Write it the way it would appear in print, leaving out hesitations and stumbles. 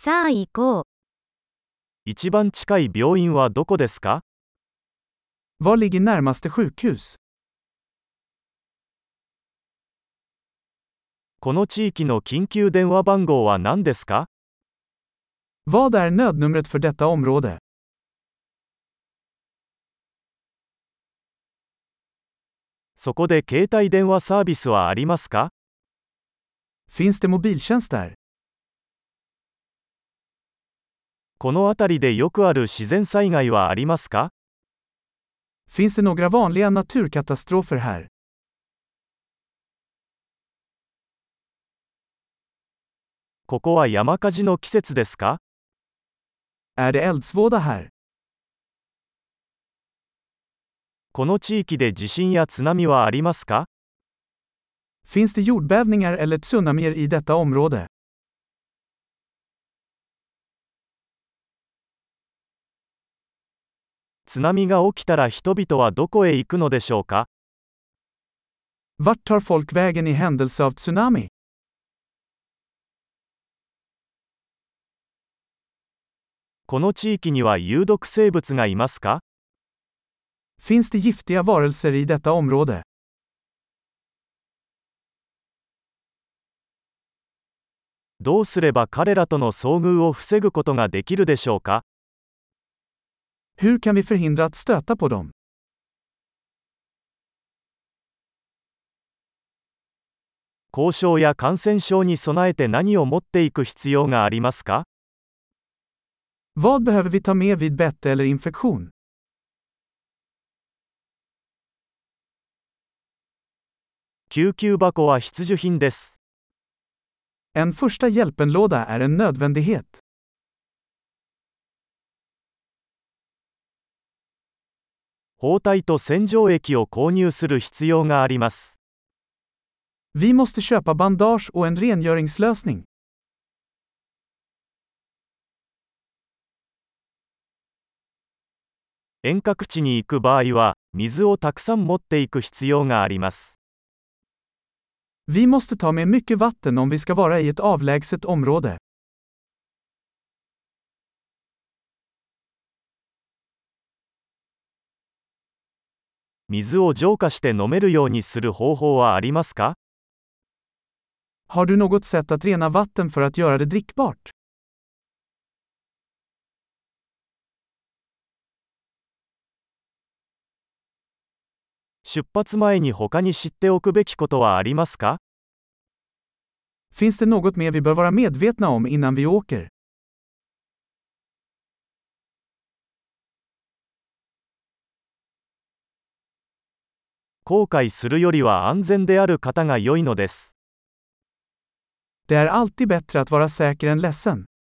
さあ行こう。 一番近い病院はどこですか？ Var ligger närmaste sjukhus? この地域の緊急電話番号は何ですか？ Vad är nödnumret för detta område? そこで携帯電話サービスはありますか？ Finns det mobiltjänst där? この辺りでよくある自然災害はありますか？ Finns det några vanliga naturkatastrofer här? ここは山火事の季節ですか？ Är det eldsvåda här? この地域で地震や津波はありますか？ Finns det jordbävningar eller tsunamier i detta område? 津波が起きたら人々はどこへ行くのでしょうか？ Vart tar folk vägen i händelse av tsunami? この地域には有毒生物がいますか？ Finns det giftiga varelser i detta område? どうすれば彼らとの遭遇を防ぐことができるでしょうか？ Hur kan vi förhindra att stöta på dem? 後遺症や感染症に備えて何を持っていく必要がありますか？ Vad behöver vi ta med vid bett eller infektion? 救急箱は必需品です。 En första hjälpenlåda är en nödvändighet. 包帯と洗浄液を購入する必要があります。 Vi måste köpa bandage och en rengöringslösning. 遠隔地に行く場合は、水をたくさん持っていく必要があります。 Vi måste ta med mycket vatten om vi ska vara i ett avlägset område. 水を浄化して飲めるようにする方法はありますか？ Har du något sätt att rena vatten för att göra det drickbart? 出発前に他に知っておくべきことはありますか？ Finns det något mer vi bör vara medvetna om innan vi åker? 後悔するよりは安全である方が良いのです。 Det är alltid bättre att vara säker än ledsen.